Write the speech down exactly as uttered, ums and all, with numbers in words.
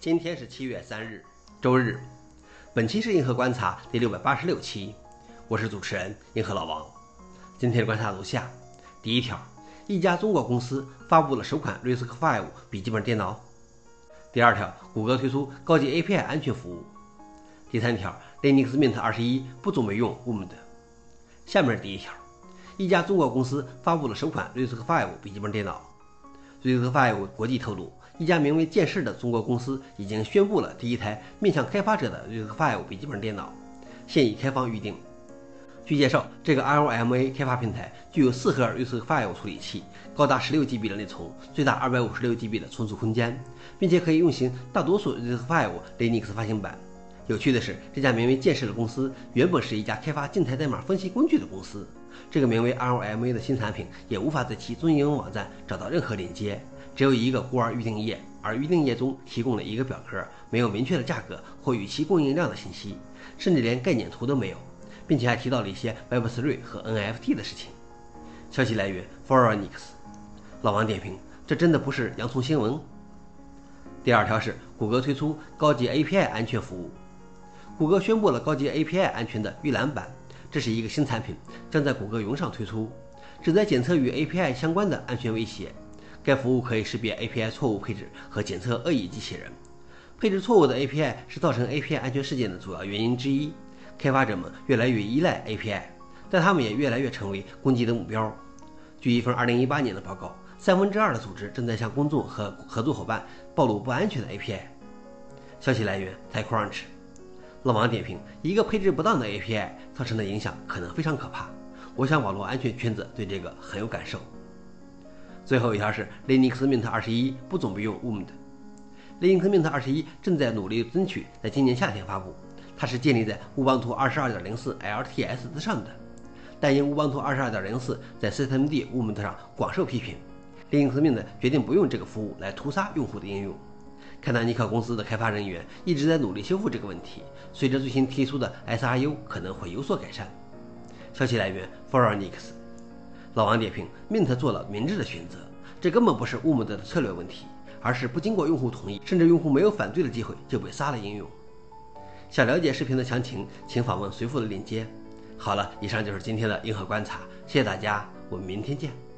今天是七月三日，周日。本期是银河观察第六百八十六期，我是主持人银河老王。今天的观察如下：第一条，一家中国公司发布了首款 R I S C V 笔记本电脑。第二条，谷歌推出高级 A P I 安全服务。第三条 ，Linux Mint 二十一不准备用 W O M D。下面第一条，一家中国公司发布了首款 R I S C V 笔记本电脑。R I S C V 国际透露，一家名为剑视的中国公司已经宣布了第一台面向开发者的 R I S C V 笔记本电脑，现已开放预定。据介绍，这个 L M A 开发平台具有四核 R I S C V 处理器，高达十六 G B 的内存，最大二百五十六 G B 的存储空间，并且可以运行大多数 R I S C V Linux 发行版。有趣的是，这家名为剑视的公司原本是一家开发静态代码分析工具的公司。这个名为 L M A 的新产品也无法在其中英文网站找到任何链接，只有一个孤儿预订页，而预订页中提供了一个表格，没有明确的价格或预期供应量的信息，甚至连概念图都没有，并且还提到了一些 Web 三 和 N F T 的事情。消息来源 Phoronix。老王点评：这真的不是洋葱新闻。第二条是谷歌推出高级 A P I 安全服务。谷歌宣布了高级 A P I 安全的预览版，这是一个新产品，将在谷歌云上推出，旨在检测与 A P I 相关的安全威胁。该服务可以识别 A P I 错误配置和检测恶意机器人。配置错误的 A P I 是造成 A P I 安全事件的主要原因之一。开发者们越来越依赖 A P I， 但他们也越来越成为攻击的目标。据一份二零一八年的报告，三分之二的组织正在向公众和合作伙伴暴露不安全的 A P I。消息来源 TechCrunch。老王点评：一个配置不当的 A P I 造成的影响可能非常可怕。我想网络安全圈子对这个很有感受。最后一条是 Linux Mint 二十一不准备用 W O M D。 Linux Mint 二十一正在努力争取在今年夏天发布，它是建立在乌邦图 二十二点零四 L T S 之上的，但因乌邦图 二十二点零四 在 systemd W O M D 上广受批评， Linux Mint 决定不用这个服务来屠杀用户的应用。开纳尼克公司的开发人员一直在努力修复这个问题，随着最新提出的 S R U 可能会有所改善。消息来源 Phoronix。老王点评： Mint 做了明智的选择，这根本不是 W O M D 的策略问题，而是不经过用户同意，甚至用户没有反对的机会就被杀了应用。想了解视频的详情，请访问随附的链接。好了，以上就是今天的银河观察，谢谢大家，我们明天见。